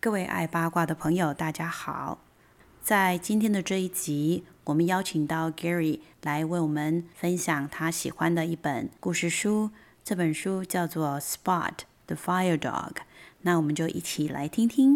各位爱八卦的朋友，大家好！在今天的这一集，我们邀请到 Gary 来为我们分享他喜欢的一本故事书。这本书叫做《Spot the Fire Dog》。那我们就一起来听听。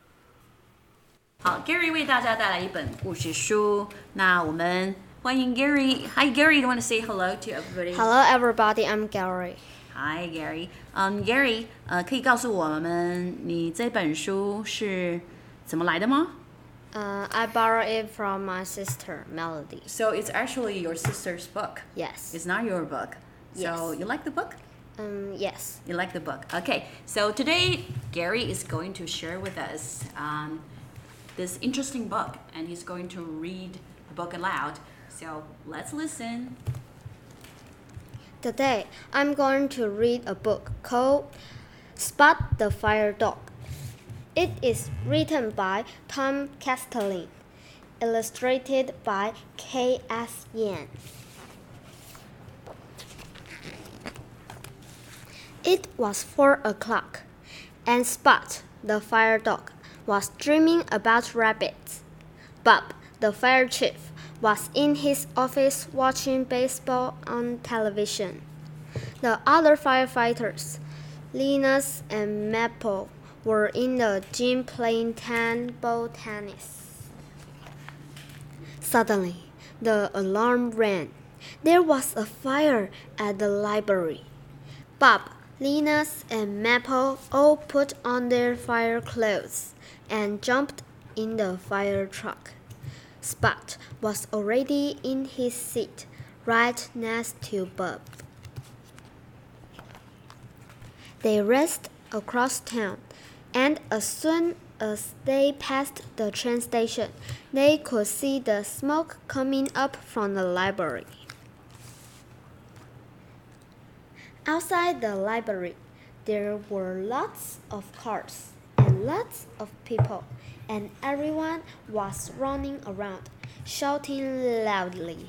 好 ，Gary 为大家带来一本故事书。那我们欢迎 Gary. Hi, Gary. Do you want to say hello to everybody? Hello, everybody. I'm Gary.Hi, Gary. Gary, 可以告诉我们你这本书是怎么来的吗 ？I borrowed it from my sister, Melody. So it's actually your sister's book. Yes. It's not your book. So yes. You like the book? Yes. You like the book. Okay. So today, Gary is going to share with us this interesting book, and he's going to read the book aloud. So let's listen.Today, I'm going to read a book called Spot the Fire Dog. It is written by Tom Castellin, illustrated by K.S. Yan. It was 4 o'clock, and Spot the Fire Dog was dreaming about rabbits. Bob, the fire chief, was in his office watching baseball on television. The other firefighters, Linus and Maple, were in the gym playing table tennis. Suddenly, the alarm rang. There was a fire at the library. Bob, Linus, and Maple all put on their fire clothes and jumped in the fire truck. Spot was already in his seat, right next to Bob. They raced across town, and as soon as they passed the train station, they could see the smoke coming up from the library. Outside the library, there were lots of cars and lots of people, and everyone was running around, shouting loudly.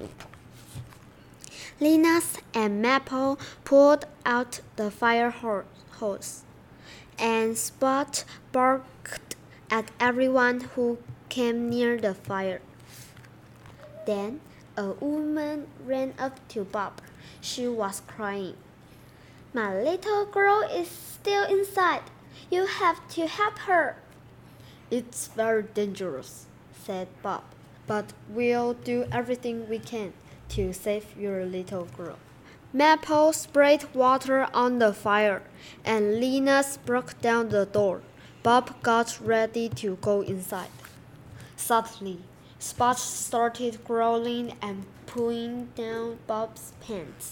Linus and Maple pulled out the fire hose, and Spot barked at everyone who came near the fire. Then a woman ran up to Bob. She was crying. "My little girl is still inside. You have to help her." "It's very dangerous," said Bob, "but we'll do everything we can to save your little girl." Maple sprayed water on the fire, and Linus broke down the door. Bob got ready to go inside. Suddenly, Spot started growling and pulling down Bob's pants.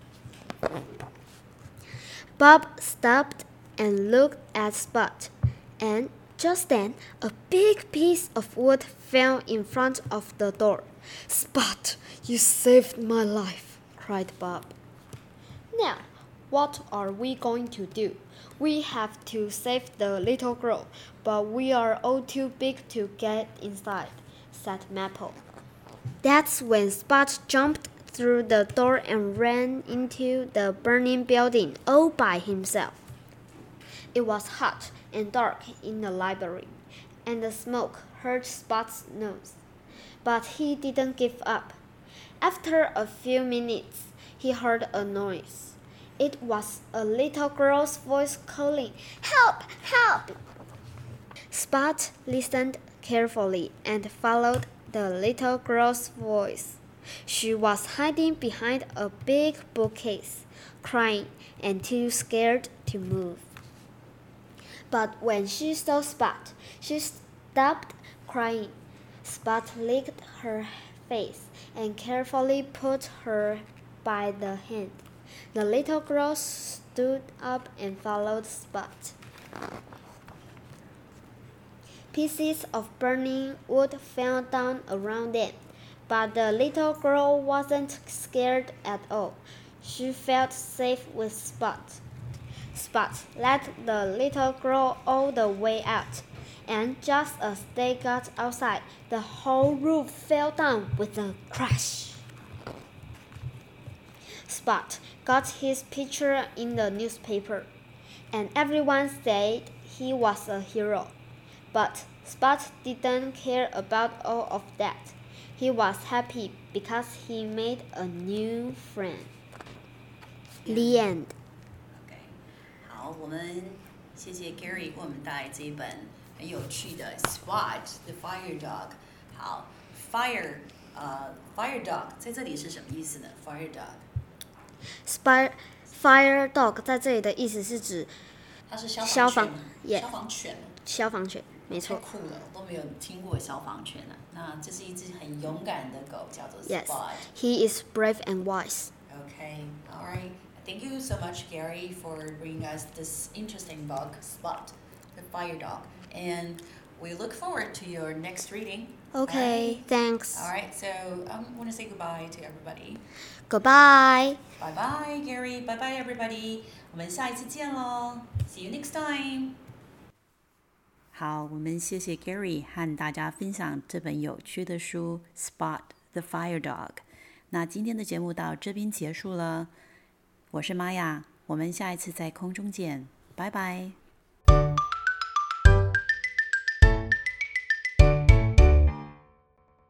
Bob stopped and looked at Spot, and just then, a big piece of wood fell in front of the door. "Spot, you saved my life," cried Bob. "Now, what are we going to do? We have to save the little girl, but we are all too big to get inside," said Maple. That's when Spot jumped through the door and ran into the burning building all by himself. It was hot and dark in the library, and the smoke hurt Spot's nose. But he didn't give up. After a few minutes, he heard a noise. It was a little girl's voice calling, "Help! Help!" Spot listened carefully and followed the little girl's voice. She was hiding behind a big bookcase, crying and too scared to move. But when she saw Spot, she stopped crying. Spot licked her face and carefully put her by the hand. The little girl stood up and followed Spot. Pieces of burning wood fell down around them, but the little girl wasn't scared at all. She felt safe with Spot. Spot led the little girl all the way out, and just as they got outside, the whole roof fell down with a crash. Spot got his picture in the newspaper, and everyone said he was a hero. But Spot didn't care about all of that. He was happy because he made a new friend. The end. OK， 好，我们谢谢 Gary 为我们带来这一本很有趣的 Spot the Fire Dog。好 ，Fire Dog 在这里是什么意思呢 ？Fire Dog。Fire dog 在这里的意思是指它是消防犬。 消防犬，没错。 太酷了，我都没有听过消防犬啊。那这是一只很勇敢的狗，叫做 Yes, Spot。 he is brave and wise. Okay, all right. Thank you so much, Gary, for bringing us this interesting book, Spot the Fire Dog. And we look forward to your next reading. Okay, thanks. All right, so I want to say goodbye to everybody. Goodbye. Bye bye, Gary. Bye bye, everybody. 我们下一次见喽。See you next time. 好，我们谢谢 Gary 和大家分享这本有趣的书《Spot the Fire Dog》。那今天的节目到这边结束了，我是玛雅，我们下一次在空中见，拜拜。